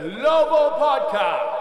Global Podcast.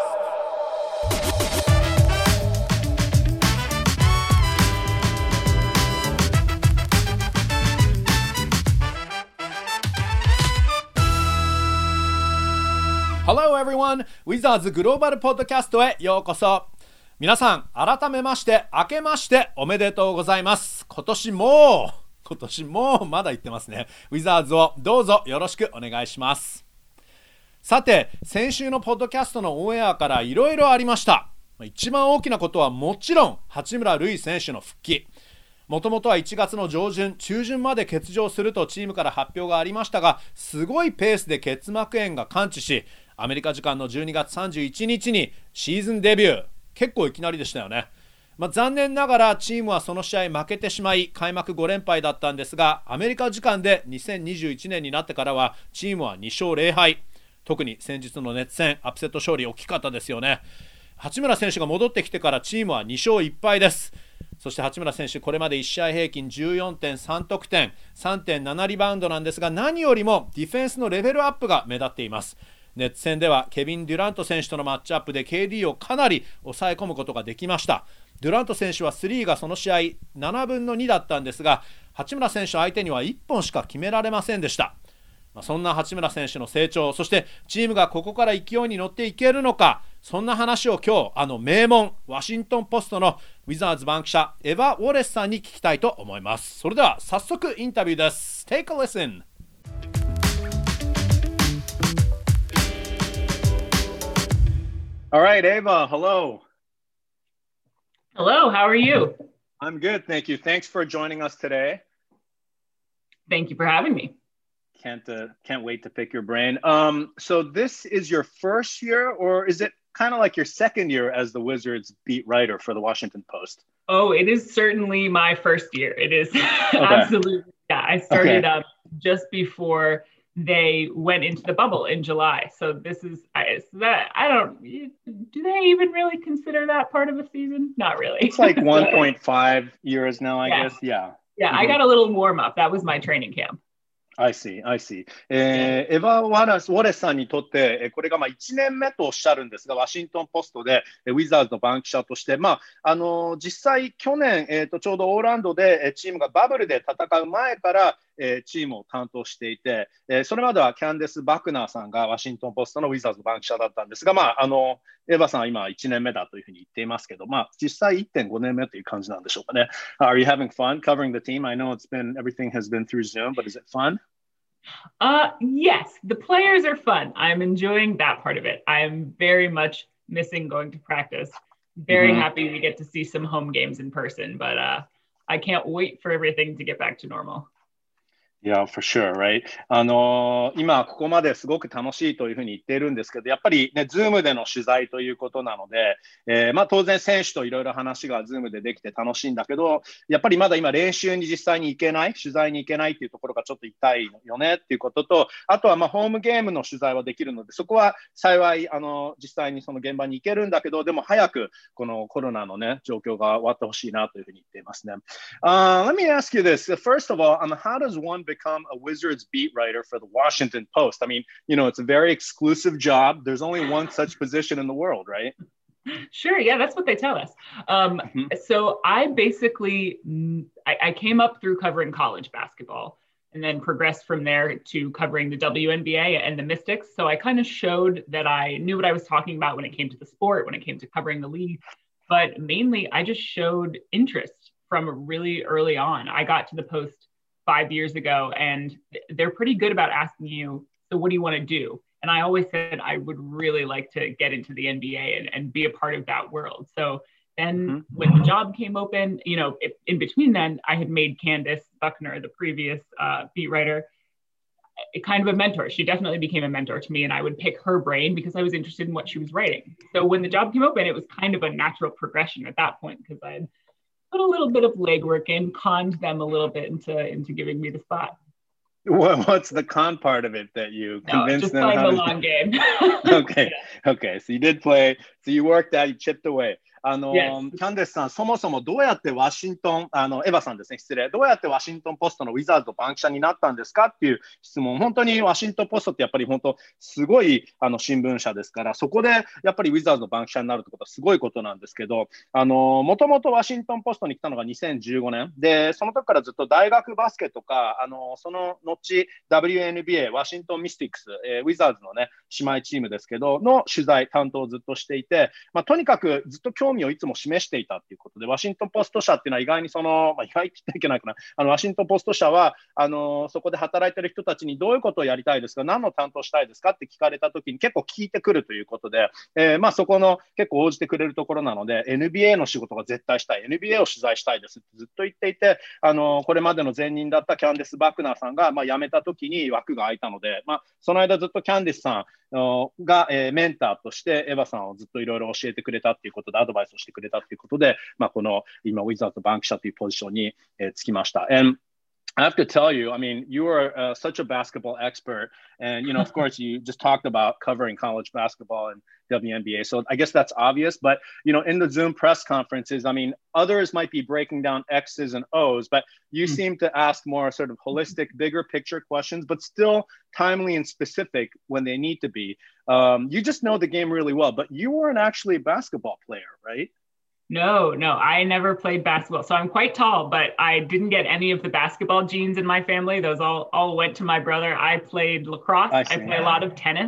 Hello everyone! Wizards グローバルポッドキャストへようこそ。皆さん、改めまして明けましておめでとうございます。今年もまだ言ってますね。ウィザーズをどうぞよろしくお願いします。さて、先週のポッドキャストのオンエアからいろいろありました。一番大きなことはもちろん八村塁選手の復帰。もともとは1月の上旬中旬まで欠場するとチームから発表がありましたが、すごいペースで結膜炎が完治し、アメリカ時間の12月31日にシーズンデビュー。結構いきなりでしたよね。残念ながらチームはその試合負けてしまい開幕5連敗だったんですが、アメリカ時間で2021年になってからはチームは2勝0敗。特に先日の熱戦アップセット勝利大きかったですよね。八村選手が戻ってきてからチームは2勝1敗です。そして八村選手、これまで1試合平均 14.3 得点 3.7 リバウンドなんですが、何よりもディフェンスのレベルアップが目立っています。ネッツ戦ではケビン・デュラント選手とのマッチアップで KD をかなり抑え込むことができました。デュラント選手は3がその試合7分の2だったんですが、八村選手相手には1本しか決められませんでした。そんな八村選手の成長、そしてチームがここから勢いに乗っていけるのか、そんな話を今日名門ワシントンポストのウィザーズ番記者エヴァ・ウォレスさんに聞きたいと思います。それでは早速インタビューです。 Take a listen.All right, Ava, hello. Hello, how are you? I'm good, thank you. Thanks for joining us today. Thank you for having me. Can't wait to pick your brain. So this is your first year, or is it kind of like your second year as the Wizards beat writer for the Washington Post? Oh, it is certainly my first year. It is absolutely. Yeah, I started just before they went into the bubble in July. So this is do they even really consider that part of a season? Not really. It's like 1.5 years now, I guess. Yeah. Yeah, I got a little warm up. That was my training camp. I see. エヴァ・ウォレスさんにとって、これが1年目とおっしゃるんですが、ワシントンポストでウィザーズの番記者として、実際去年、ちょうどオーランドでチームがバブルで戦う前からチームを担当していて、それまではキャンデス・バクナーさんがワシントンポストのウィザーズの番記者だったんですが、エヴァさんは今1年目だというふうに言っていますけど、実際 1.5 年目という感じなんでしょうかね。Are you having fun covering the team? I know everything has been through Zoom, but is it fun? Yes, the players are fun. I'm enjoying that part of it. I'm very much missing going to practice. Very happy we get to see some home games in person, but I can't wait for everything to get back to normal.Yeah, for sure, right? 今ここまですごく楽しいというふうに言っているんですけど、やっぱりね、ズームでの取材ということなので、当然選手といろいろ話がズームでできて楽しいんだけど、やっぱりまだ今練習に実際に行けない、取材に行けないっていうところがちょっと痛いよねっていうことと、あとはホームゲームの取材はできるので、そこは幸い実際にその現場に行けるんだけど、でも早くこのコロナのね、状況が終わってほしいなというふうに言っていますね。Let me ask you this. First of all, how does one become a Wizards beat writer for the Washington Post? I mean, it's a very exclusive job. There's only one such position in the world, right? Sure. Yeah, that's what they tell us. So I basically, I came up through covering college basketball and then progressed from there to covering the WNBA and the Mystics. So I kind of showed that I knew what I was talking about when it came to the sport, when it came to covering the league. But mainly, I just showed interest from really early on. I got to the Post 5 years ago, and they're pretty good about asking you, so what do you want to do? And I always said I would really like to get into the NBA and be a part of that world. So then when the job came open, in between then, I had made Candace Buckner, the previous beat writer, kind of a mentor. She definitely became a mentor to me, and I would pick her brain because I was interested in what she was writing. So when the job came open, it was kind of a natural progression at that point because I had put a little bit of legwork in, conned them a little bit into giving me the spot. What's the con part of it that you convinced them? Just playing the long game. Okay. So you did play. So you worked out, you chipped away. キャンディスさん、そもそもどうやってワシントン、エヴァさんですね、失礼、どうやってワシントンポストのウィザーズの番記者になったんですかっていう質問、本当にワシントンポストってやっぱり本当、すごい新聞社ですから、そこでやっぱりウィザーズの番記者になるってことはすごいことなんですけど、もともとワシントンポストに来たのが2015年で、その時からずっと大学バスケとか、その後、WNBA、ワシントンミスティックス、ウィザーズのね、姉妹チームですけど、の取材担当をずっとしていて、とにかくずっと興味をいつも示していたということで、ワシントンポスト社っていうのは意外に意外って言っていけないかな、ワシントンポスト社はそこで働いている人たちにどういうことをやりたいですか、何の担当したいですかって聞かれたときに結構聞いてくるということで、そこの結構応じてくれるところなので、NBA の仕事が絶対したい、NBA を取材したいですってずっと言っていて、これまでの前任だったキャンディス・バクナーさんが、辞めたときに枠が空いたので、その間ずっとキャンディスさんが、メンターとしてエヴァさんをずっといろいろ教えてくれたということで、アドバイスをしてくれたということで、この今、ウィザーズ番記者というポジションにつきました。I have to tell you, I mean, you are such a basketball expert. And, of course, you just talked about covering college basketball and WNBA. So I guess that's obvious. But, in the Zoom press conferences, I mean, others might be breaking down X's and O's, but you seem to ask more sort of holistic, bigger picture questions, but still timely and specific when they need to be. You just know the game really well, but you weren't actually a basketball player, right? No, I never played basketball. So I'm quite tall, but I didn't get any of the basketball genes in my family. Those all went to my brother. I played lacrosse. I play a lot of tennis.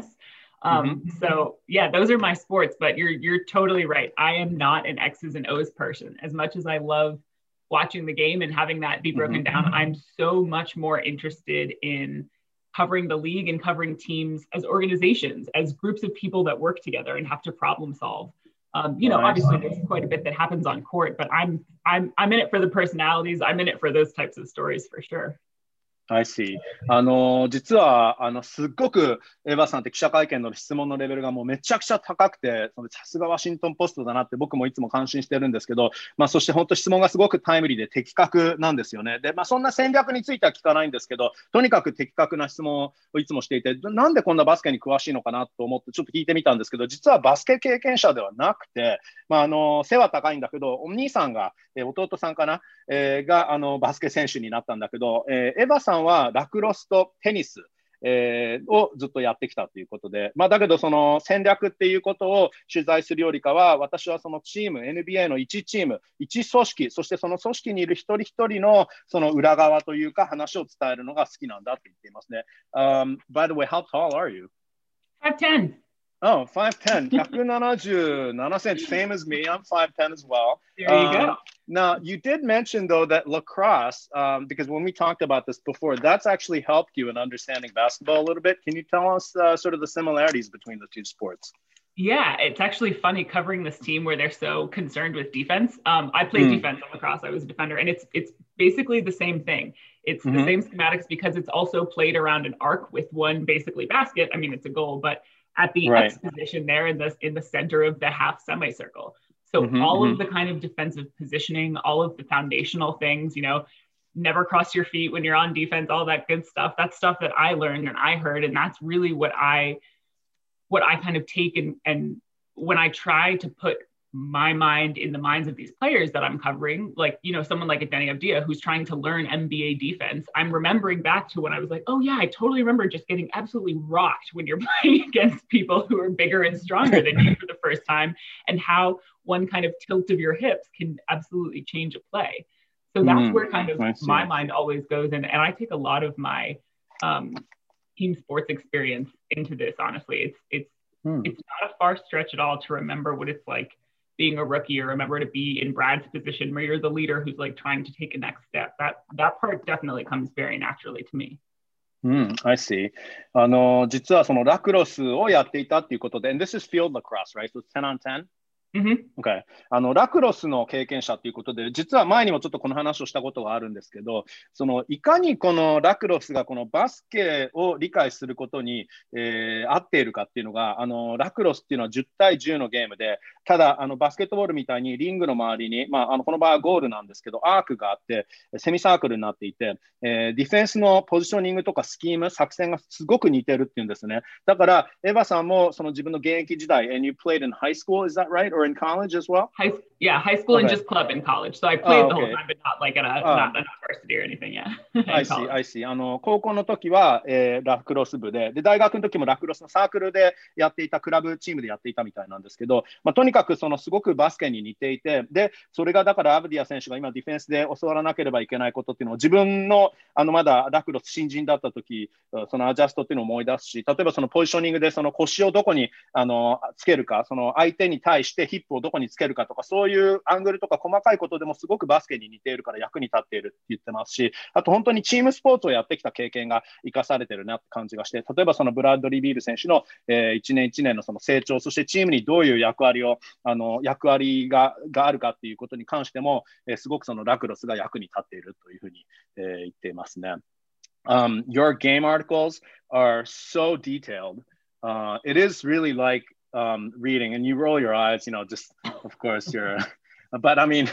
So yeah, those are my sports, but you're totally right. I am not an X's and O's person. As much as I love watching the game and having that be broken down, I'm so much more interested in covering the league and covering teams as organizations, as groups of people that work together and have to problem solve. Obviously there's quite a bit that happens on court, but I'm in it for the personalities. I'm in it for those types of stories for sure. I see. 実はすっごくエヴァさんって記者会見の質問のレベルがもうめちゃくちゃ高くて、さすがワシントンポストだなって僕もいつも感心してるんですけど、そして本当質問がすごくタイムリーで的確なんですよね。で、そんな戦略については聞かないんですけど、とにかく的確な質問をいつもしていて、なんでこんなバスケに詳しいのかなと思ってちょっと聞いてみたんですけど、実はバスケ経験者ではなくて、背は高いんだけど、お兄さんが、弟さんかな、がバスケ選手になったんだけど、エヴァさんはラクロスとテニス、をずっとやってきたということで、だけどその戦略っていうことを取材するよりかは、私はそのチーム NBA の1チーム1組織、そしてその組織にいる一人一人のその裏側というか話を伝えるのが好きなんだって言っていますね。By the way, how tall are you? 5'10". Oh, 5'10", 177 cents, same as me. I'm 5'10 as well. There you go. Now, you did mention, though, that lacrosse, because when we talked about this before, that's actually helped you in understanding basketball a little bit. Can you tell us sort of the similarities between the two sports? Yeah, it's actually funny covering this team where they're so concerned with defense. I played defense on lacrosse. I was a defender, and it's basically the same thing. It's the same schematics because it's also played around an arc with one basically basket. I mean, it's a goal, but at the X position there in the center of the half semicircle. So all of the kind of defensive positioning, all of the foundational things, never cross your feet when you're on defense, all that good stuff. That's stuff that I learned and I heard, and that's really what I kind of take and when I try to put my mind in the minds of these players that I'm covering, like, someone like a Deni Avdija who's trying to learn NBA defense, I'm remembering back to when I was like, oh yeah, I totally remember just getting absolutely rocked when you're playing against people who are bigger and stronger than you for the first time, and how one kind of tilt of your hips can absolutely change a play. So that's where kind of my mind always goes in. And I take a lot of my team sports experience into this, honestly. It's not a far stretch at all to remember what it's like being a rookie, or remember to be in Brad's position where you're the leader who's like trying to take a next step. That part definitely comes very naturally to me. I see. 実はそのラクロスをやっていたっていうことで、and this is field lacrosse, right? So it's 10 on 10? Okay. ラクロスの経験者ということで、実は前にもちょっとこの話をしたことがあるんですけど、いかにこのラクロスがこのバスケを理解することに、合っているかっていうのが、ラクロスっていうのは10対10のゲームで、ただバスケットボールみたいにリングの周りに、この場合はゴールなんですけど、アークがあってセミサークルになっていて、ディフェンスのポジショニングとかスキーム、作戦がすごく似てるっていうんですね。だからエヴァさんもその自分の現役時代、and you played in high school, is that right? or in college as well? High school and just club in college. So I played the whole time, but not like not a varsity or anything yet. I see, I see. 高校の時は、ラクロス部で、大学の時もラクロスのサークルでやっていた、クラブチームでやっていたみたいなんですけど、とにかくすごくバスケに似ていて、で、それがだからアブディア選手が今ディフェンスで教わらなければいけないことっていうのを自分のまだラクロス新人だった時、そのアジャストっていうのを思い出すし、例えばそのポジショニングでその腰をどこにつけるか、その相手に対してヒップをどこにつけるかとか、そういうアングルとか細かいことでもすごくバスケに似ているから役に立っているって言ってますし、あと本当にチームスポーツをやってきた経験が生かされてるなって感じがして、例えばそのブラッドリー・ビール選手の一年一年のその成長、そしてチームにどういう役割があるかっていうことに関しても、すごくそのラクロスが役に立っているというふうに言っていますね。Your game articles are so detailed. It is really like reading, and you roll your eyes, just of course but I mean,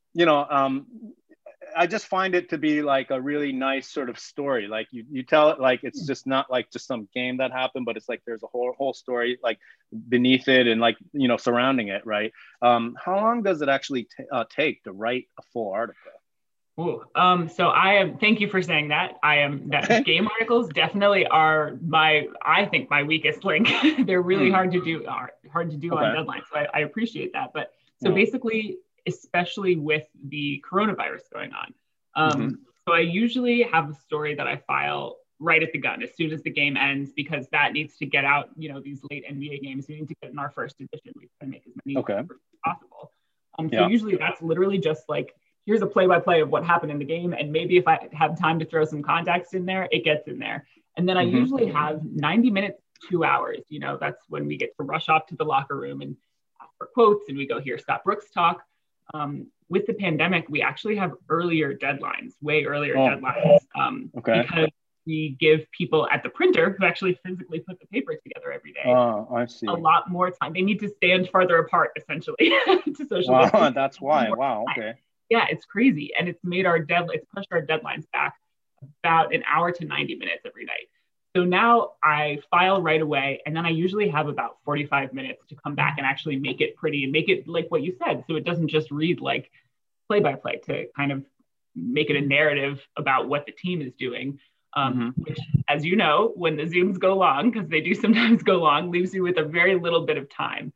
I just find it to be like a really nice sort of story. Like you tell it like it's just not like just some game that happened, but it's like there's a whole story like beneath it and like surrounding it, right? How long does it actually take to write a full article? Ooh, so thank you for saying that. Game articles definitely are I think my weakest link. They're really hard to do on deadlines. So I appreciate that. But so basically, especially with the coronavirus going on. So I usually have a story that I file right at the gun as soon as the game ends, because that needs to get out, these late NBA games. We need to get in our first edition. We try to make as many as possible. So usually that's literally just like, here's a play-by-play of what happened in the game. And maybe if I have time to throw some context in there, it gets in there. And then I usually have 90 minutes, 2 hours. That's when we get to rush off to the locker room and ask for quotes, and we go hear Scott Brooks talk. With the pandemic, we actually have earlier deadlines, way earlier deadlines, because we give people at the printer who actually physically put the paper together every day I see. A lot more time. They need to stand farther apart, essentially, to social distance. That's why. Wow. Okay. Yeah, it's crazy, and it's pushed our deadlines back about an hour to 90 minutes every night. So now I file right away, and then I usually have about 45 minutes to come back and actually make it pretty and make it like what you said. So it doesn't just read like play-by-play, to kind of make it a narrative about what the team is doing, which, as you know, when the Zooms go long, because they do sometimes go long, leaves you with a very little bit of time.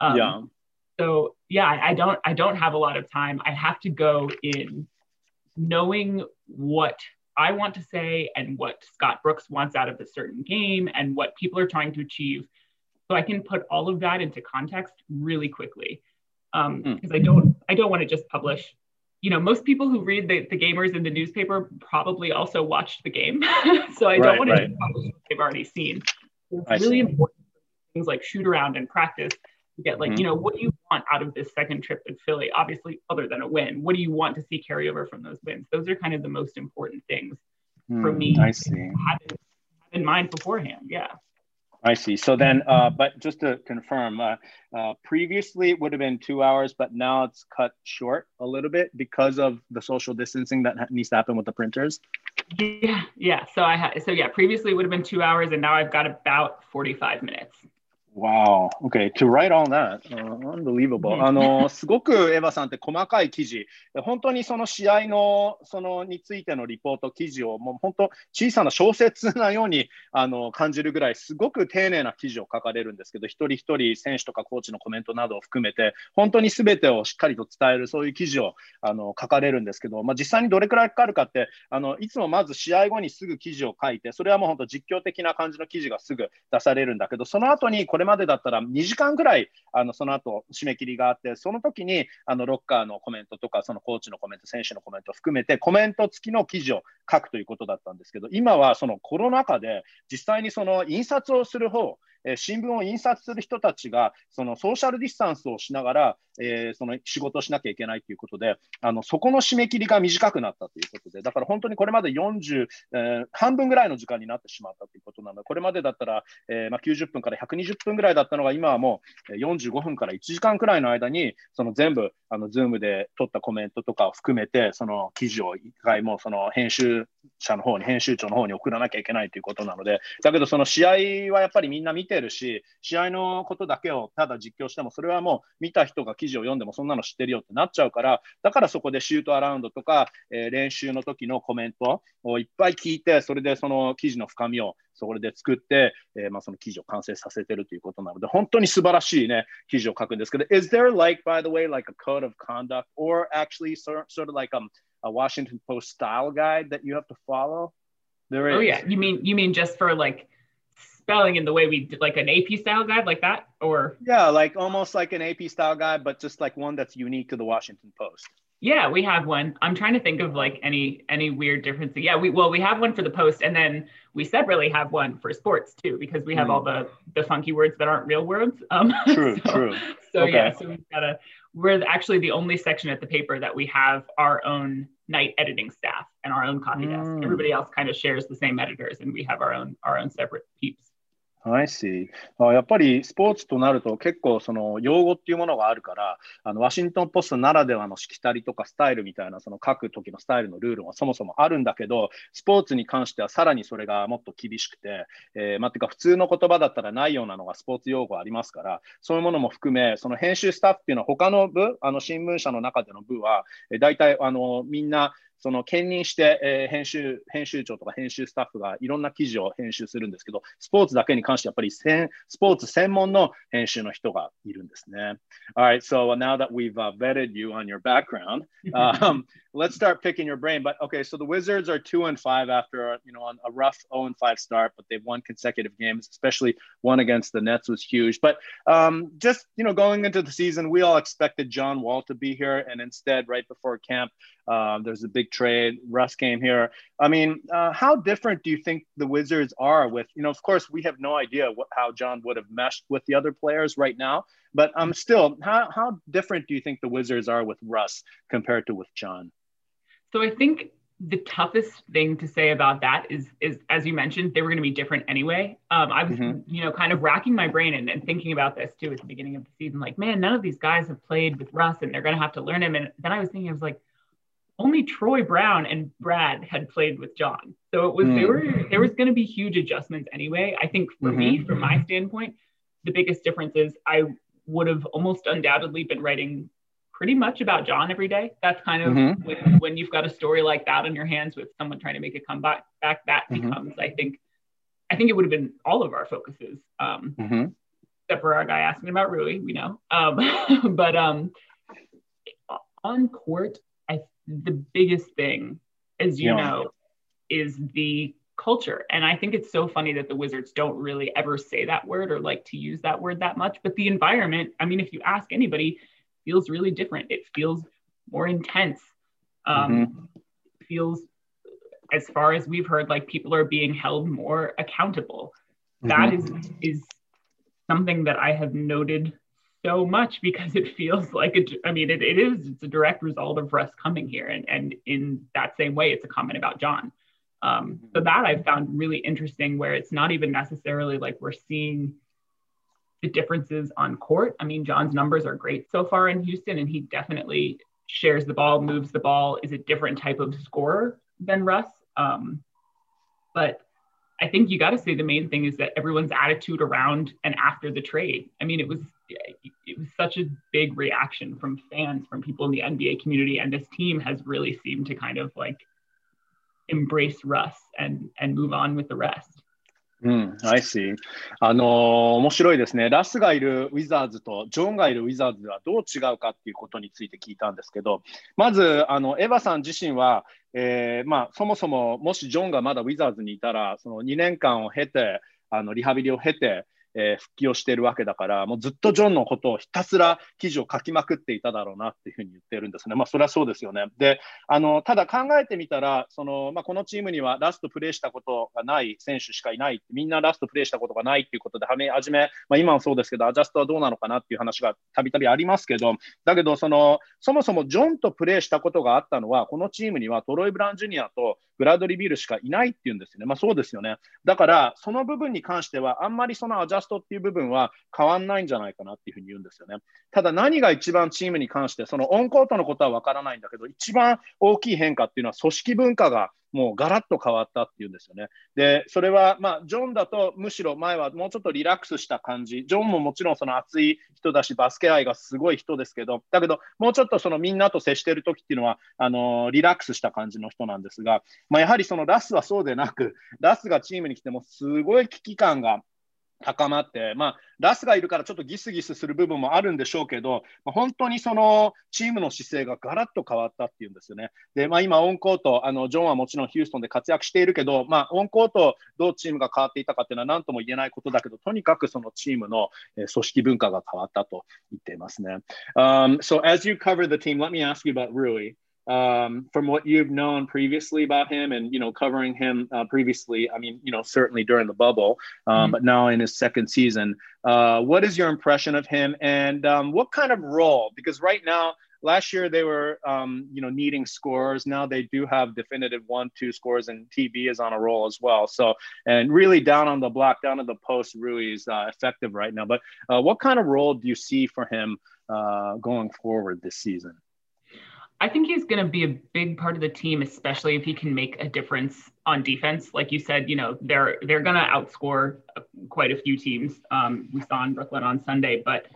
So yeah, I don't have a lot of time. I have to go in knowing what I want to say and what Scott Brooks wants out of a certain game and what people are trying to achieve. So I can put all of that into context really quickly. Because I don't want to just publish. Most people who read the gamers in the newspaper probably also watched the game. So I don't want to just publish what they've already seen. So it's really important things like shoot around and practice to get like, what do you want out of this second trip to Philly? Obviously, other than a win, what do you want to see carry over from those wins? Those are kind of the most important things for me. I see. To have in mind beforehand. Yeah. I see. So then, but just to confirm, previously it would have been 2 hours, but now it's cut short a little bit because of the social distancing that needs to happen with the printers. Yeah. So previously it would have been 2 hours, and now I've got about 45 minutes. Wow. Okay. To write all that. Unbelievable. すごくエヴァさんって細かい記事、本当にその試合のについてのリポート記事をもう本当小さな小説なように感じるぐらいすごく丁寧な記事を書かれるんですけど、一人一人選手とかコーチのコメントなどを含めて本当に全てをしっかりと伝えるそういう記事を書かれるんですけど、実際にどれくらいかかるかっていつもまず試合後にすぐ記事を書いて、それはもう本当実況的な感じの記事がすぐ出されるんだけど、その後にこれまでだったら2時間ぐらいその後締め切りがあって、その時にロッカーのコメントとかそのコーチのコメント、選手のコメントを含めてコメント付きの記事を書くということだったんですけど、今はそのコロナ禍で実際にその印刷をする方、新聞を印刷する人たちがそのソーシャルディスタンスをしながら、その仕事をしなきゃいけないということで、そこの締め切りが短くなったということで、だから本当にこれまで半分ぐらいの時間になってしまったということなので、これまでだったら、90分から120分ぐらいだったのが、今はもう45分から1時間くらいの間にその全部Zoom で取ったコメントとかを含めてその記事を一回もその編集者の方に、編集長の方に送らなきゃいけないということなので、だけどその試合はやっぱりみんな見てるし、試合のことだけをただ実況しても、それはもう見た人が記事を読んでもそんなの知ってるよってなっちゃうから、だからそこでシュートアラウンドとか、練習の時のコメントをいっぱい聞いて、それでその記事の深みをそれで作って、その記事を完成させてるということなので、本当に素晴らしいね、記事を書くんですけど、Is there like, by the way, like a code of conduct or actually sort of like a Washington Post style guide that you have to follow? There is. Oh yeah, you mean just for like spelling in the way we did, like an AP style guide like that, or? Yeah, like almost like an AP style guide, but just like one that's unique to the Washington Post. Yeah, we have one. I'm trying to think of like any weird differences. Yeah, we have one for the Post, and then we separately have one for sports too, because we have all the funky words that aren't real words. True. So Okay. yeah, so we're actually the only section at the paper that we have our own night editing staff and our own copy desk. Everybody else kind of shares the same editors, and we have our own separate peeps. I see. やっぱりスポーツとなると結構その用語っていうものがあるから、ワシントンポストならではのしきたりとかスタイルみたいなその書く時のスタイルのルールはそもそもあるんだけど、スポーツに関してはさらにそれがもっと厳しくて、てか普通の言葉だったらないようなのがスポーツ用語ありますから、そういうものも含め、その編集スタッフっていうのは他の部、新聞社の中での部は、大体みんなその兼任して、編集長とか編集スタッフがいろんな記事を編集するんですけど、スポーツだけに関してやっぱりスポーツ専門の編集の人がいるんですね。Alright, so now that we've vetted you on your background, let's start picking your brain. But okay, so the Wizards are 2-5 after a rough 0-5 start, but they've won consecutive games, especially one against the Nets was huge. But just going into the season, we all expected John Wall to be here, and instead, right before camp, there's a big trade. Russ came here. I mean, how different do you think the Wizards are with, of course, we have no idea how John would have meshed with the other players right now. But still, how different do you think the Wizards are with Russ compared to with John? So I think the toughest thing to say about that is as you mentioned, they were going to be different anyway. I was, kind of racking my brain and thinking about this too at the beginning of the season. Like, man, none of these guys have played with Russ, and they're going to have to learn him. And then I was thinking, I was like, only Troy Brown and Brad had played with John. So it was there was going to be huge adjustments anyway. I think for me, from my standpoint, the biggest difference is I would have almost undoubtedly been writing pretty much about John every day. That's kind of when you've got a story like that on your hands with someone trying to make a comeback, that becomes, I think it would have been all of our focuses, except for our guy asking about Rui, we know. But on court, the biggest thing, as you know, is the culture. And I think it's so funny that the Wizards don't really ever say that word or like to use that word that much. But the environment, I mean, if you ask anybody, feels really different. It feels more intense. Feels, as far as we've heard, like people are being held more accountable. That is something that I have noted so much, because it feels like it's a direct result of Russ coming here, and in that same way it's a comment about John. So that I found really interesting, where it's not even necessarily like we're seeing the differences on court. I mean, John's numbers are great so far in Houston, and he definitely shares the ball, moves the ball, is a different type of scorer than Russ. But I think you got to say the main thing is that everyone's attitude around and after the trade. I mean, it was such a big reaction from fans, from people in the NBA community, and this team has really seemed to kind of like embrace Russ and move on with the rest. I see. 面白いですね。ラスがいるウィザーズとジョンがいるウィザーズではどう違うかっていうことについて聞いたんですけど、まずエヴァさん自身は、そもそももしジョンがまだウィザーズにいたら、その2年間を経て、リハビリを経て、復帰をしているわけだから、もうずっとジョンのことをひたすら記事を書きまくっていただろうなっていうふうに言ってるんですね。それはそうですよね。で、ただ考えてみたら、このチームにはラストプレーしたことがない選手しかいない。みんなラストプレーしたことがないっていうことで、初め、今もそうですけど、アジャストはどうなのかなっていう話がたびたびありますけど、だけどそもそもジョンとプレーしたことがあったのは、このチームにはトロイ・ブラウン・ジュニアとブラッドリー・ビールしかいないっていうんですよね。そうですよね。だから、その部分に関しては、あんまりそのアジャストっていう部分は変わんないんじゃないかなっていうふうに言うんですよね。ただ何が一番チームに関して、そのオンコートのことは分からないんだけど、一番大きい変化っていうのは組織文化がもうガラッと変わったっていうんですよね。で、それは、まあ、ジョンだとむしろ前はもうちょっとリラックスした感じ。ジョンももちろんその熱い人だし、バスケ愛がすごい人ですけど、だけど、もうちょっとそのみんなと接している時っていうのは、リラックスした感じの人なんですが、まあ、やはりそのラスはそうでなく、ラスがチームに来てもすごい危機感が高まって、まあ、ラスがいるからちょっとギスギスする部分もあるんでしょうけど、まあ、本当にそのチームの姿勢がガラッと変わったっていうんですよね。で、まあ、今、オンコート、ジョンはもちろんヒューストンで活躍しているけど、まあ、オンコート、どうチームが変わっていたかっていうのは何とも言えないことだけど、とにかくそのチームの組織文化が変わったと言っていますね。So as you cover the team, let me ask you about Rui. From what you've known previously about him and, covering him previously, I mean, certainly during the bubble, but now in his second season, what is your impression of him and what kind of role? Because right now, last year they were, needing scores. Now they do have definitive 1-2 scores, and TB is on a roll as well. So, and really down on the block, down on the post, Rui is effective right now. But what kind of role do you see for him going forward this season? I think he's going to be a big part of the team, especially if he can make a difference on defense. Like you said, they're going to outscore quite a few teams. We saw in Brooklyn on Sunday, but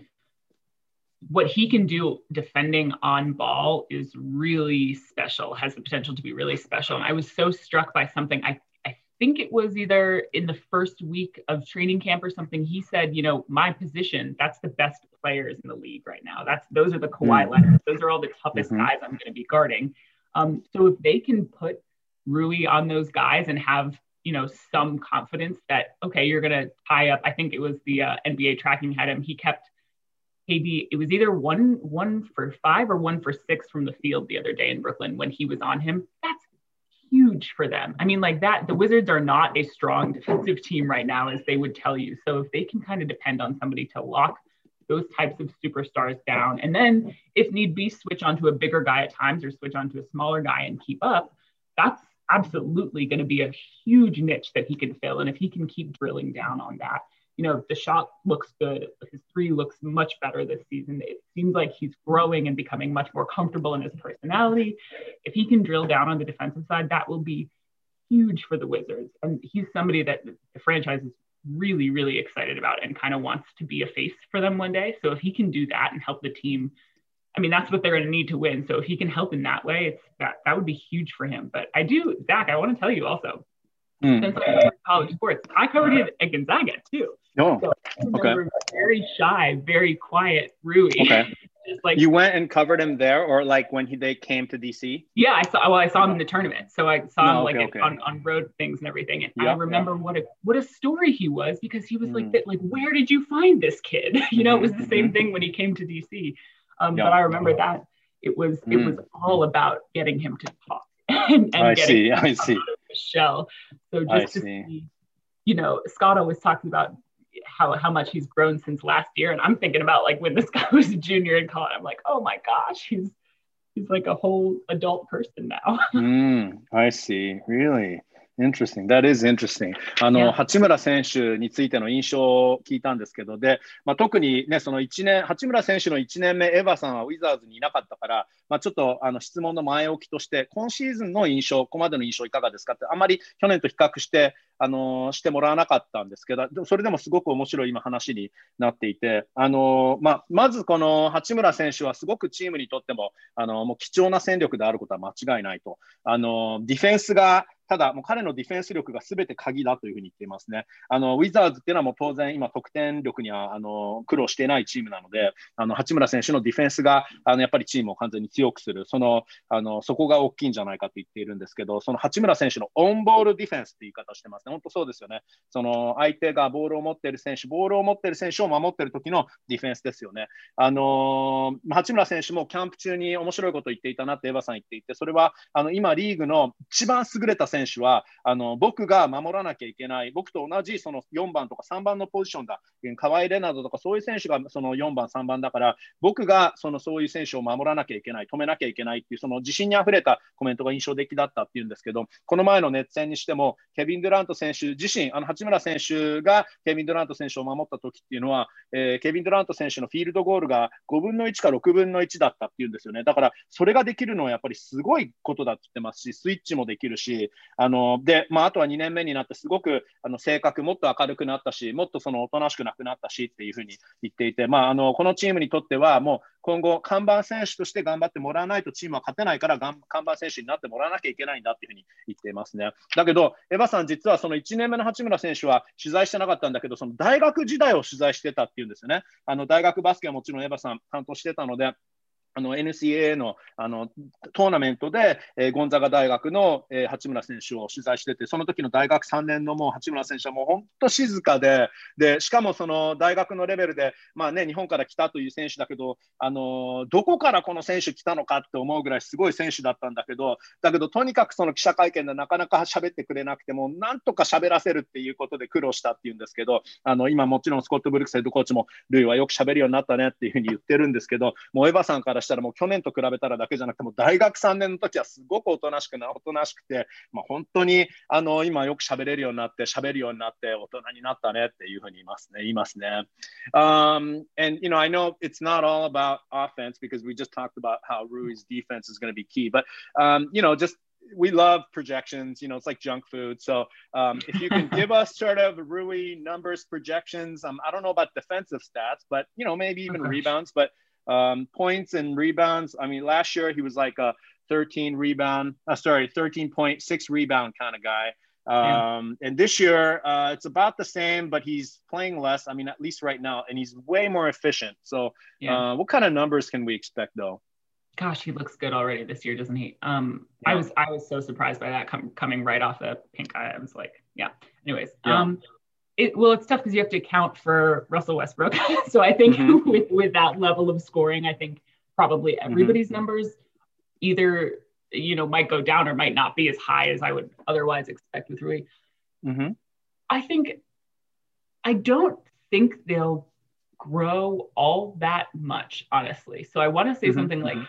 what he can do defending on ball is really special, has the potential to be really special. And I was so struck by something. I think it was either in the first week of training camp or something. He said, my position, that's the best players in the league right now. Those are the Kawhi Leonard. Those are all the toughest guys I'm going to be guarding. So if they can put Rui on those guys and have, some confidence that, okay, you're going to tie up. I think it was the NBA tracking had him. He kept KD. It was either 1 for 5 or 1 for 6 from the field the other day in Brooklyn when he was on him. That's huge for them. I mean, like that, the Wizards are not a strong defensive team right now, as they would tell you. So if they can kind of depend on somebody to lock those types of superstars down, and then if need be, switch onto a bigger guy at times or switch onto a smaller guy and keep up, that's absolutely going to be a huge niche that he can fill. And if he can keep drilling down on that, the shot looks good. His 3 looks much better this season. It seems like he's growing and becoming much more comfortable in his personality. If he can drill down on the defensive side, that will be huge for the Wizards. And he's somebody that the franchise is really, really excited about and kind of wants to be a face for them one day. So if he can do that and help the team, I mean, that's what they're going to need to win. So if he can help in that way, that would be huge for him. But Zach, I want to tell you also, since I covered college sports, I covered it at Gonzaga too. Oh, so I remember very shy, very quiet Rui. Okay. Just like, you went and covered him there, or like when they came to DC? Yeah, I saw him in the tournament. So I saw him on road things and everything. And I remember what a story he was, because he was like, where did you find this kid? It was the same thing when he came to DC. But I remember that it was all about getting him to talk and I getting see. him out of his shell. So just to see, Scott always talks about how much he's grown since last year, and I'm thinking about like when this guy was a junior in college. I'm like, oh my gosh, he's like a whole adult person now. I see. Really interesting. That is interesting. 八村選手についての印象を聞いたんですけど、で、特にね、その八村選手の1年目、エヴァさんはウィザーズにいなかったから、ちょっと質問の前置きとして、今シーズンの印象、ここまでの印象いかがですかって、あまり去年と比較してしてもらわなかったんですけど、それでもすごく面白い今話になっていて、まずこの八村選手はすごくチームにとってももう貴重な戦力であることは間違いないと。ディフェンスがただもう彼のディフェンス力が全て鍵だというふうに言っていますね。ウィザーズっていうのはもう当然今得点力には苦労していないチームなので、八村選手のディフェンスがやっぱりチームを完全に強くする、そこが大きいんじゃないかと言っているんですけど、その八村選手のオンボールディフェンスって言い方をしてますね。本当そうですよね。相手がボールを持っている選手を守っている時のディフェンスですよね。八村選手もキャンプ中に面白いことを言っていたなってエヴァさん言っていて、それは今リーグの一番優れた選手は僕が守らなきゃいけない、僕と同じその4番とか3番のポジションだ、カワイ・レナードとかそういう選手がその4番3番だから、僕がそういう選手を守らなきゃいけない、止めなきゃいけないっていうその自信にあふれたコメントが印象的だったっていうんですけど、この前の熱戦にしてもケビン・デュラント選手自身、八村選手がケビン・デュラント選手を守った時っていうのは、ケビン・デュラント選手のフィールドゴールが5分の1か6分の1だったっていうんですよね。だからそれができるのはやっぱりすごいことだって言ってますし、スイッチもできるし、 で、あとは2年目になってすごく性格もっと明るくなったし、もっとそのおとなしくなくなったしっていうふうに言っていて、このチームにとってはもう今後看板選手として頑張ってもらわないとチームは勝てないから看板選手になってもらわなきゃいけないんだっていうふうに言っていますね。だけど、エヴァさん実はその1年目の八村選手は取材してなかったんだけど、その大学時代を取材してたっていうんですよね。大学バスケはもちろんエヴァさん担当してたので、NCAA の、トーナメントで、ゴンザガ大学の、八村選手を取材してて、その時の大学3年のもう八村選手はもう本当静かで、しかもその大学のレベルで、日本から来たという選手だけど、どこからこの選手来たのかって思うぐらいすごい選手だったんだけど、とにかくその記者会見でなかなか喋ってくれなくても、なんとか喋らせるっていうことで苦労したっていうんですけど、今もちろんスコット・ブルックスヘッドコーチも、ルイはよく喋るようになったねっていうふうに言ってるんですけど、もうエヴァさんからしたらもう去年と比べたらだけじゃなくても大学3年の時はすごくおとなしくて、本当に今よく喋れるようになって大人になったねっていうふうに言いますね。And I know it's not all about offense because we just talked about how Rui's defense is going to be key, but just we love projections. It's like junk food. So if you can give us sort of Rui numbers, projections, I don't know about defensive stats, but maybe even rebounds, but points and rebounds. I mean, last year he was like a 13.6 rebound kind of guy. And this year it's about the same, but he's playing less. I mean, at least right now, and he's way more efficient. So what kind of numbers can we expect though? Gosh, he looks good already this year, doesn't he? I was so surprised by that coming right off the pink eye. I was like, anyways. It's tough because you have to account for Russell Westbrook. So I think with that level of scoring, I think probably everybody's numbers either, might go down or might not be as high as I would otherwise expect with Rui. I don't think they'll grow all that much, honestly. So I want to say something like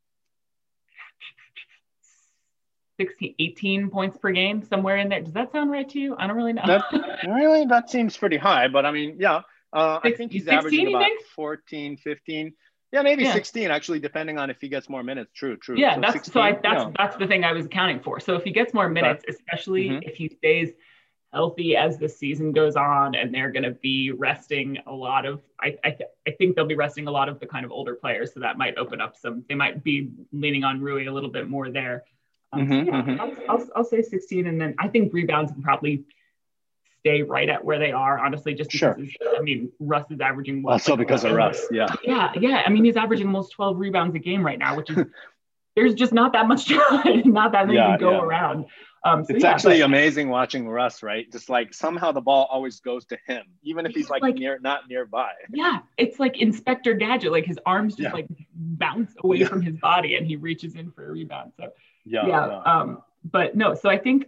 16, 18 points per game, somewhere in there. Does that sound right to you? I don't really know. That seems pretty high, but I mean, I think he's averaging about 14, 15. Yeah, maybe 16 actually, depending on if he gets more minutes. True. Yeah, that's the thing I was accounting for. So if he gets more minutes, especially if he stays healthy as the season goes on, and they're going to be resting a lot of, I think they'll be resting a lot of the kind of older players. So that might open up they might be leaning on Rui a little bit more there. I'll say 16, and then I think rebounds will probably stay right at where they are, honestly, just because Russ is averaging because of Russ. I mean, he's averaging almost 12 rebounds a game right now, which is there's just not that much not that many to go around. It's actually amazing watching Russ, right? Just like somehow the ball always goes to him, even if he's like not nearby. Yeah, it's like Inspector Gadget, like his arms just like bounce away from his body and he reaches in for a rebound. So but no, so I think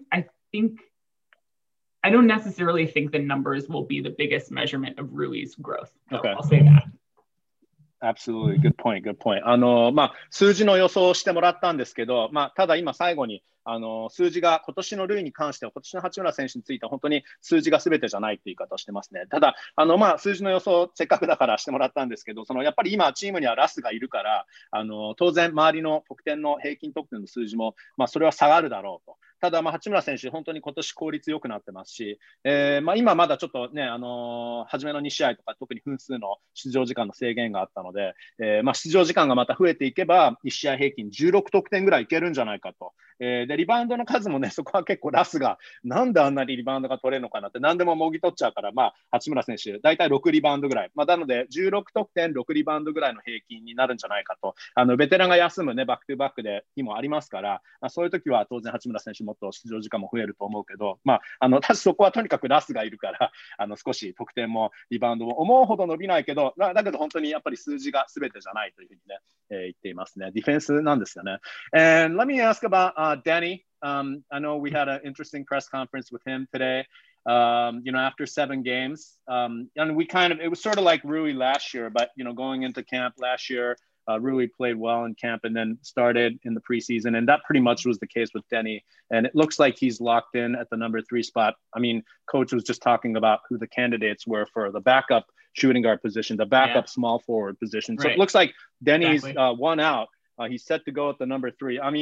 I don't necessarily think the numbers will be the biggest measurement of Rui's growth. I'll say that. Absolutely. Good point. 数字の予想をしてもらったんですけど、ただ今最後に数字が今年のルイに関しては、今年の八村選手については本当に数字が全てじゃないって言い方をしてますね。ただ数字の予想せっかくだからしてもらったんですけど、やっぱり今チームにはラスがいるから、当然周りの得点の平均得点の数字もそれは下がるだろうと。ただ八村選手本当に今年効率良くなってますし、今まだちょっとね初めの2試合とか特に分数の出場時間の制限があったので、出場時間がまた増えていけば1試合平均16得点ぐらいいけるんじゃないかと。でリバウンドの数もね、そこは結構ラスがなんであんなにリバウンドが取れるのかなって何でももぎ取っちゃうから、八村選手大体6リバウンドぐらい、なので16得点6リバウンドぐらいの平均になるんじゃないかと。ベテランが休むねバックトゥバックで日もありますから、そういう時は当然八村選手もっと出場時間も増えると思うけど、そこはとにかくラスがいるから少し得点もリバウンドも思うほど伸びないけど、だけど本当にやっぱり数字が全てじゃないというふうにね、言っていますね。ディフェンスなんですよね。And let me ask about Danny. I know we had an interesting press conference with him today. After 7 games, and it was sort of like Rui last year, but going into camp last year, Rui played well in camp and then started in the preseason, and that pretty much was the case with Denny. And it looks like he's locked in at the number 3 spot. I mean, coach was just talking about who the candidates were for the backup shooting guard position, the backup small forward position. So it looks like Denny's one out. He's set to go at the number 3. I mean,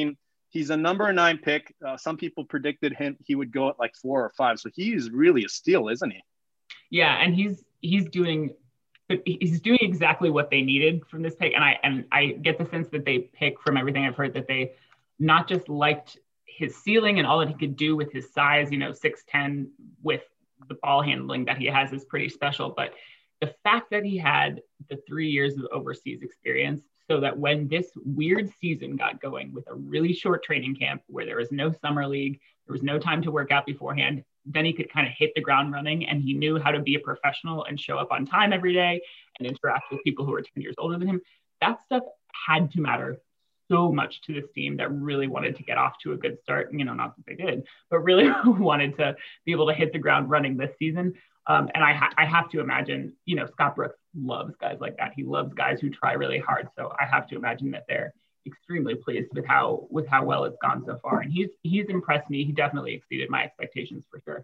He's a number 9 pick. Some people predicted he would go at like 4 or 5. So he is really a steal, isn't he? Yeah, and he's doing exactly what they needed from this pick. And I get the sense that they pick, from everything I've heard, that they not just liked his ceiling and all that he could do with his size, 6'10", with the ball handling that he has is pretty special. But the fact that he had the 3 years of overseas experience, so that when this weird season got going with a really short training camp where there was no summer league, there was no time to work out beforehand, then he could kind of hit the ground running, and he knew how to be a professional and show up on time every day and interact with people who are 10 years older than him. That stuff had to matter so much to this team that really wanted to get off to a good start. Not that they did, but really wanted to be able to hit the ground running this season. And I have to imagine, Scott Brooks loves guys like that. He loves guys who try really hard. So I have to imagine that they're extremely pleased with how well it's gone so far. And he's impressed me. He definitely exceeded my expectations for sure.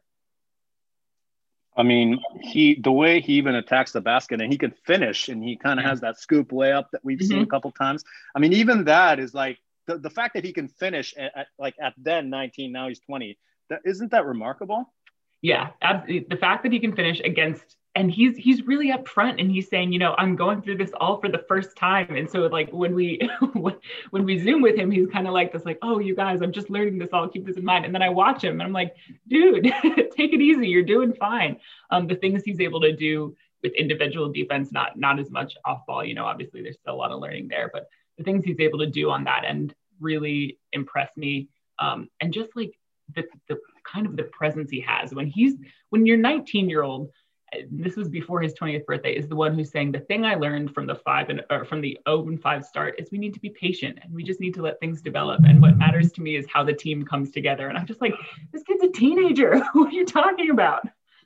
I mean, the way he even attacks the basket, and he can finish, and he kind of has that scoop layup that we've seen a couple times. I mean, even that is like the fact that he can finish at then 19, now he's 20. Isn't that remarkable? Yeah, absolutely. The fact that he can finish against, and he's really upfront, and he's saying, I'm going through this all for the first time. And so like when we when we Zoom with him, he's kind of like this, like, oh, you guys, I'm just learning this. I'll keep this in mind. And then I watch him and I'm like, dude, take it easy. You're doing fine. The things he's able to do with individual defense, not as much off ball, obviously there's still a lot of learning there, but the things he's able to do on that end really impress me. And just like the kind of the presence he has when your 19-year-old, this was before his 20th birthday, is the one who's saying, the thing I learned from the 0-5 start is we need to be patient and we just need to let things develop. And what matters to me is how the team comes together. And I'm just like, this kid's a teenager. What are you talking about?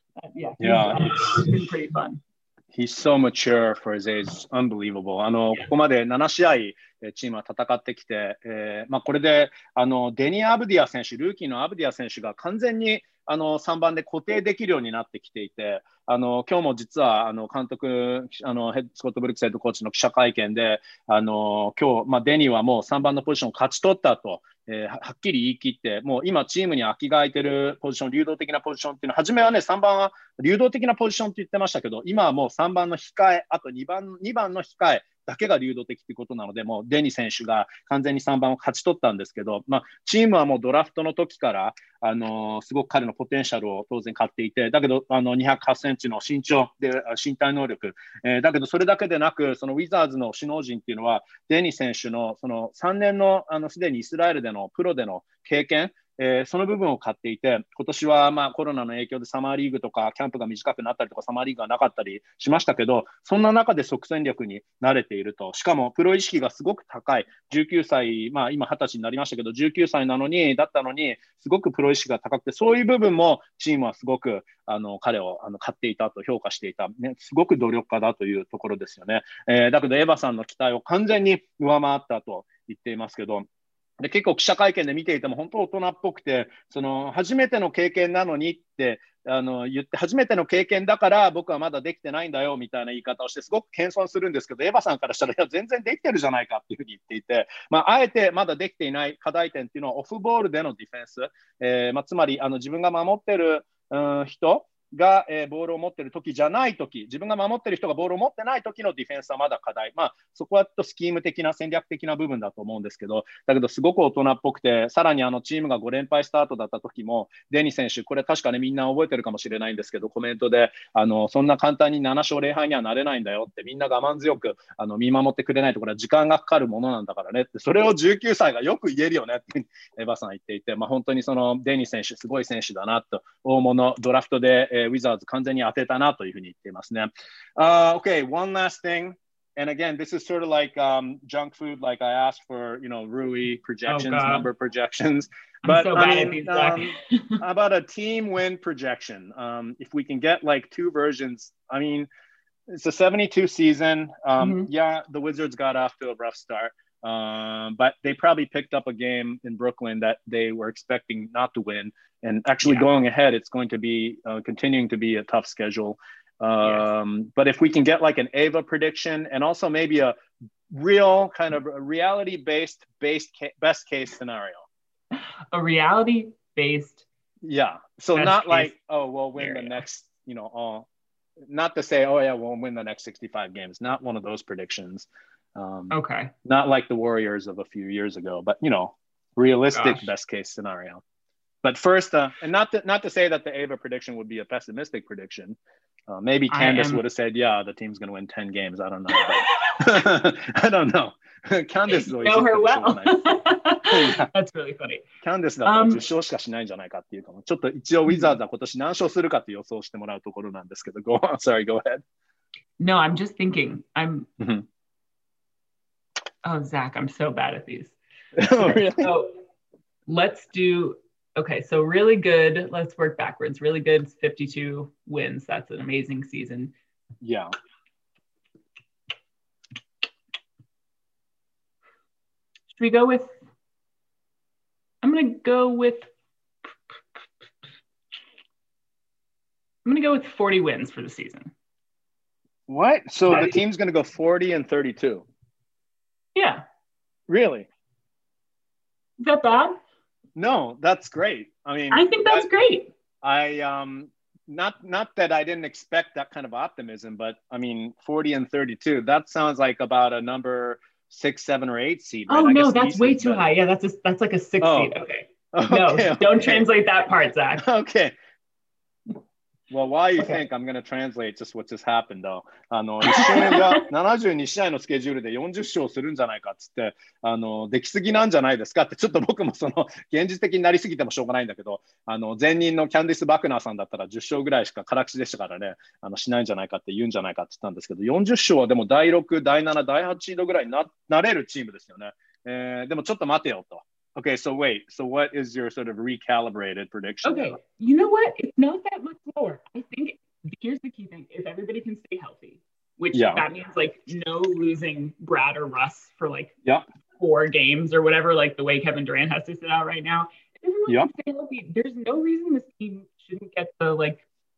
It's been pretty fun. He's so mature for his age. Unbelievable. ここまで7試合チームは戦ってきて、これでデニー・アブディア選手、ルーキーのアブディア選手が完全に3番で固定できるようになってきていて、今日も実は監督、スコット・ブルックスヘッドコーチの記者会見で、今日、デニーはもう3番のポジションを勝ち取ったと、はっきり言い切って、もう今チームに空きが空いてるポジション、流動的なポジションっていうのは、初めはね、3番は流動的なポジションって言ってましたけど、今はもう3番の控え、あと2番の控えだけが流動的ということなので、もうデニ選手が完全に3番を勝ち取ったんですけど、チームはもうドラフトの時からすごく彼のポテンシャルを当然買っていて、だけど208センチの身長で身体能力、だけどそれだけでなく、そのウィザーズの首脳陣っていうのはデニ選手のその3年のすでにイスラエルでのプロでの経験、その部分を買っていて、今年はコロナの影響でサマーリーグとかキャンプが短くなったりとかサマーリーグがなかったりしましたけど、そんな中で即戦力に慣れていると。しかもプロ意識がすごく高い19歳、今20歳になりましたけど、19歳だったのにすごくプロ意識が高くて、そういう部分もチームはすごく彼を買っていたと評価していた、すごく努力家だというところですよね。だけどエヴァさんの期待を完全に上回ったと言っていますけど、で結構記者会見で見ていても本当大人っぽくて、その初めての経験なのにって言って、初めての経験だから僕はまだできてないんだよみたいな言い方をしてすごく謙遜するんですけど、エヴァさんからしたらいや全然できてるじゃないかっていうふうに言っていて、あえてまだできていない課題点っていうのはオフボールでのディフェンス、つまり自分が守ってる人が、ボールを持っている時じゃない時、自分が守っている人がボールを持ってない時のディフェンスはまだ課題、そこはスキーム的な戦略的な部分だと思うんですけど、だけどすごく大人っぽくて、さらにチームが5連敗スタートだった時もデニ選手、これ確かねみんな覚えてるかもしれないんですけど、コメントでそんな簡単に7勝0敗にはなれないんだよって、みんな我慢強く見守ってくれないとこれは時間がかかるものなんだからねって、それを19歳がよく言えるよねってエヴァさん言っていて、本当にそのデニ選手すごい選手だなと、大物ドラフトでウィザーズ完全に当てたなというふうに言っていますね。Okay, one last thing. And again, this is sort of like junk food, like I asked for, Rui projections, number projections. But so about a team win projection. If we can get like two versions, I mean, it's a 72 season. Yeah, the Wizards got off to a rough start. But they probably picked up a game in Brooklyn that they were expecting not to win. And actually going ahead, it's going to be continuing to be a tough schedule. But if we can get like an Ava prediction and also maybe a real kind of reality-based best case scenario. A reality-based. Yeah. So not like, case oh, we'll win the scenario. next, not to say, oh yeah, we'll win the next 65 games. Not one of those predictions. Okay. Not like the Warriors of a few years ago, but realistic Gosh. best case scenario. But first, and not to say that the Ava prediction would be a pessimistic prediction. Maybe I Candace am. would have said, yeah, the team's going to win 10 games. I don't know. I don't know. Candace You know her well. いや That's really funny. キャンデスだったら10勝しかしないんじゃないかっていうかも、ちょっと一応ウィザーズは今年何勝するかって予想してもらうところなんですけど、sorry, go ahead. No, I'm just thinking. Mhm. Oh, Zach, I'm so bad at these. Oh, really? So let's do, okay, so really good. Let's work backwards. Really good, 52 wins. That's an amazing season. Yeah. Should we go with, I'm going to go with 40 wins for the season. What? So the team's going to go 40-32? Yeah. Really? Is that bad? No, that's great. I mean, I think that's great. Not that I didn't expect that kind of optimism, but I mean, 40-32, that sounds like about a number 6, 7, or 8 seed. Right? Oh, no, that's way too high. Yeah, that's like a 6 seed. Okay. No, don't translate that part, Zach. Okay. Well, while you think, I'm going to translate just what just happened, though. 一瞬が72試合のスケジュールで40勝するんじゃないかっつって、できすぎなんじゃないですかって、ちょっと僕もその現実的になりすぎてもしょうがないんだけど、前任のキャンディス・バクナーさんだったら10勝ぐらいしか辛口でしたからね、しないんじゃないかって言うんじゃないかって言ったんですけど、40勝はでも第6、第7、第8シードぐらいになれるチームですよね。でもちょっと待てよと。Okay, so wait. So what is your sort of recalibrated prediction? Okay, you know what? It's not that much lower. I think here's the key thing: if everybody can stay healthy, which that means like no losing Brad or Russ for like 4 games or whatever, like the way Kevin Durant has to sit out right now. If everyone can stay healthy, there's no reason this team shouldn't get the like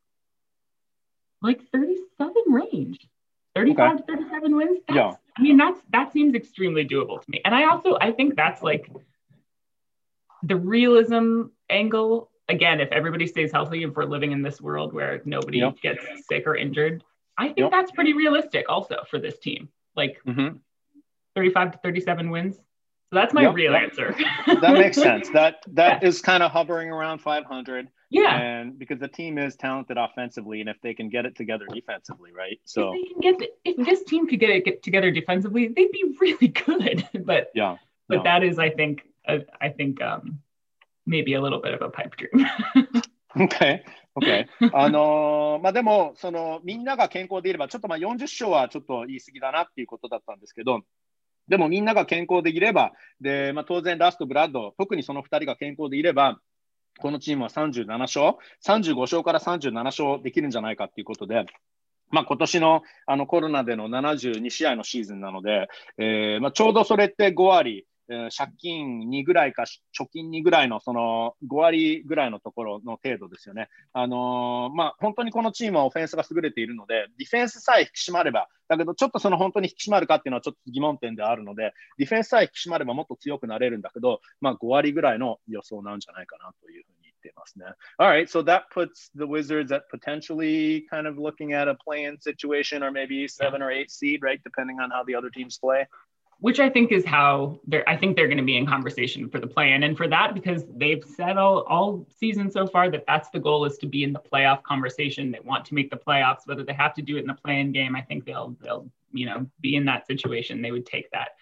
37 range. 35 to 37 wins. I mean, that seems extremely doable to me. And I think that's like the realism angle. Again, if everybody stays healthy, if we're living in this world where nobody gets sick or injured, I think that's pretty realistic also for this team. Like 35 to 37 wins. So that's my real answer. That makes sense. That is kind of hovering around 500. Yeah. And because the team is talented offensively, and if they can get it together defensively, right? So if this team could get it together defensively, they'd be really good. But that is, I think maybe a little bit of a pipe dream. Okay. でもみんなが健康でいればちょっと40勝はちょっと言い過ぎだなっていうことだったんですけど、でもみんなが健康でいればで、当然ラストブラッド、特にその2人が健康でいればこのチームは37勝、35勝から37勝できるんじゃないかっていうことで、今年のコロナでの72試合のシーズンなので、ちょうどそれって5割。借金2ぐらいか貯金2ぐらいのその5割ぐらいのところの程度ですよね。本当にこのチームはオフェンスが優れているので、ディフェンスさえ引き締まれば、だけどちょっとその本当に引き締まるかっていうのはちょっと疑問点であるので、ディフェンスさえ引き締まればもっと強くなれるんだけど、5割ぐらいの予想なんじゃないかなというふうに言っていますね。Alright, so that puts the Wizards at potentially kind of looking at a play-in situation or maybe 7 or 8 seed, right? Depending on how the other teams play. Which I think is how I think they're going to be in conversation for the play-in, and for that, because they've said all season so far that that's the goal, is to be in the playoff conversation. They want to make the playoffs, whether they have to do it in the play-in game. I think they'll be in that situation. They would take that.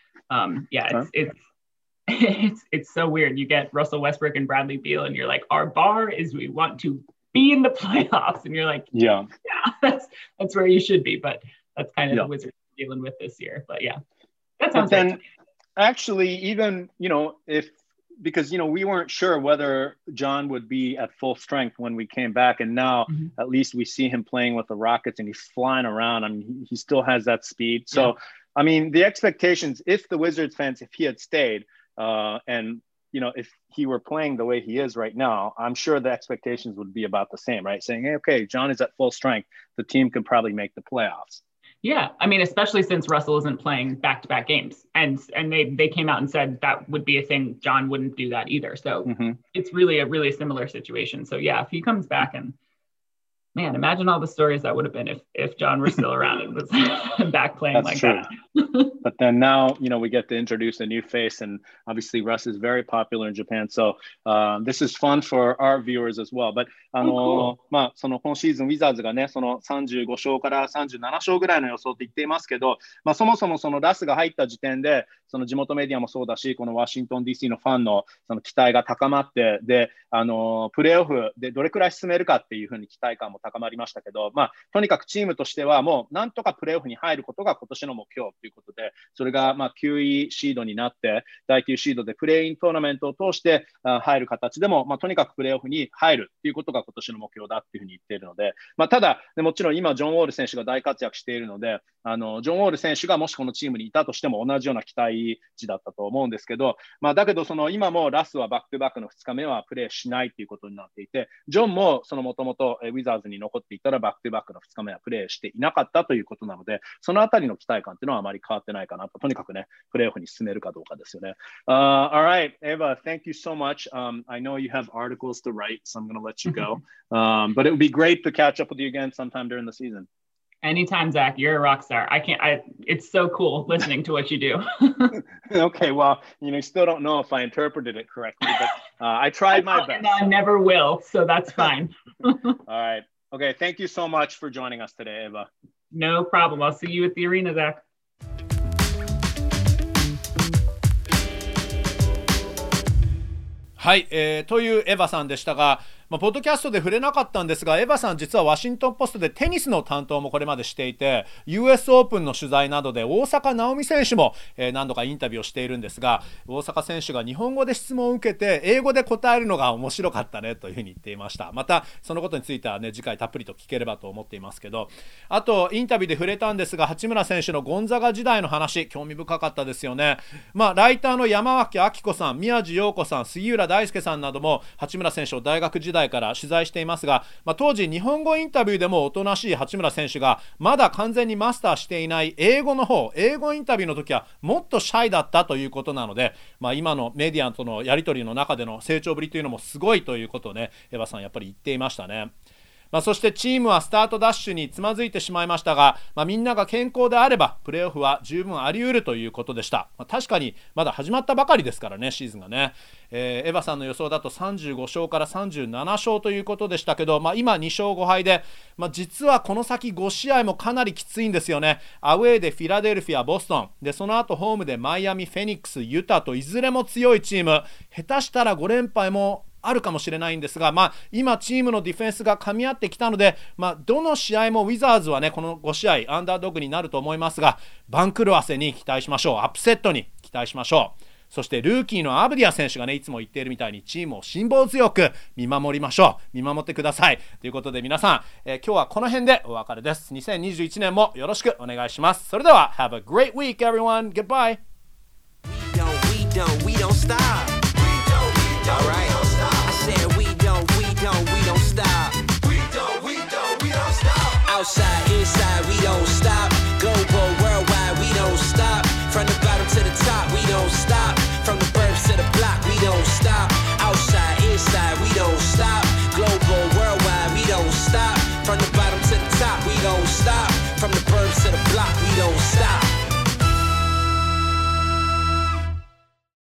It's so weird. You get Russell Westbrook and Bradley Beal, and you're like, our bar is we want to be in the playoffs, and you're like, yeah, that's where you should be. But that's kind of the Wizards dealing with this year. But yeah. But then, actually, even, because, we weren't sure whether John would be at full strength when we came back. And now, at least we see him playing with the Rockets and he's flying around. I mean, he still has that speed. So, I mean, the expectations, if the Wizards fans, if he had stayed and, if he were playing the way he is right now, I'm sure the expectations would be about the same, right? Saying, hey, okay, John is at full strength. The team could probably make the playoffs. Yeah, I mean, especially since Russell isn't playing back-to-back games, and they came out and said that would be a thing. John wouldn't do that either. So it's really a really similar situation. So yeah, if he comes back, and man, imagine all the stories that would have been if John were still around and was back playing. That's like true. That. But then now, we get to introduce a new face, and obviously Russ is very popular in Japan. So this is fun for our viewers as well. But cool. その今シーズンウィザーズがね、その35勝から37勝ぐらいの予想って言っていますけど、そもそもそのラスが入った時点で、その地元メディアもそうだし、このワシントン DC のファンのその期待が高まって、で、プレーオフでどれくらい進めるかっていうふうに期待感も高まりましたけど、とにかくチームとしてはもうなんとかプレーオフに入ることが今年の目標ということで、それが9位シードになって、第9シードでプレーイントーナメントを通して入る形でも、とにかくプレーオフに入るということが今年の目標だっていうふうに言っているので、ただ、もちろん今、ジョン・ウォール選手が大活躍しているので、ジョン・ウォール選手がもしこのチームにいたとしても同じような期待値だったと思うんですけど、だけど今もラスはバックトゥバックの2日目はプレーしないということになっていて、ジョンももともとウィザーズに残っていたらバックトゥバックの2日目はプレーしていなかったということなので、そのあたりの期待感というのはあまり変わってないかなと、とにかくね、プレーオフに進めるかどうかですよね。Alright, Eva, thank you so much. I know you have articles to write, so I'm going to let you go. But it would be great to catch up with you again sometime during the season. Anytime, Zach. You're a rock star. It's so cool listening to what you do. Okay, well, you still don't know if I interpreted it correctly, but I tried my best. I never will, so that's fine. All right. Okay, thank you so much for joining us today, Eva. No problem. I'll see you at the arena, Zach. はい、というエヴァさんでしたが、ポッドキャストで触れなかったんですが、エヴァさん実はワシントンポストでテニスの担当もこれまでしていて、 US オープンの取材などで大坂なおみ選手も、何度かインタビューをしているんですが、大坂選手が日本語で質問を受けて英語で答えるのが面白かったねというふうに言っていました。またそのことについてはね、次回たっぷりと聞ければと思っていますけど、あとインタビューで触れたんですが、八村選手のゴンザガ時代の話、興味深かったですよね。ライターの山脇明子さん、宮地陽子さん、杉浦大輔さんなども八村選手を大学時代から取材していますが、当時日本語インタビューでもおとなしい八村選手がまだ完全にマスターしていない英語インタビューの時はもっとシャイだったということなので、今のメディアとのやり取りの中での成長ぶりというのもすごいということをね、エヴァさんやっぱり言っていましたね。そしてチームはスタートダッシュにつまずいてしまいましたが、みんなが健康であればプレーオフは十分あり得るということでした。確かにまだ始まったばかりですからね、シーズンがね。エヴァさんの予想だと35勝から37勝ということでしたけど、今2勝5敗で、実はこの先5試合もかなりきついんですよね。アウェーでフィラデルフィア、ボストンで、その後ホームでマイアミ、フェニックス、ユタといずれも強いチーム、下手したら5連敗もあるかもしれないんですが、今チームのディフェンスが噛み合ってきたので、どの試合もウィザーズはね、この5試合アンダードッグになると思いますが、番狂わせに期待しましょう。アップセットに期待しましょう。そしてルーキーのアブディア選手がね、いつも言っているみたいにチームを辛抱強く見守りましょう。見守ってくださいということで、皆さん、今日はこの辺でお別れです。2021年もよろしくお願いします。それでは Have a great week everyone. Goodbye. We don't stop. All right. I said we don't stop. We don't stop. Outside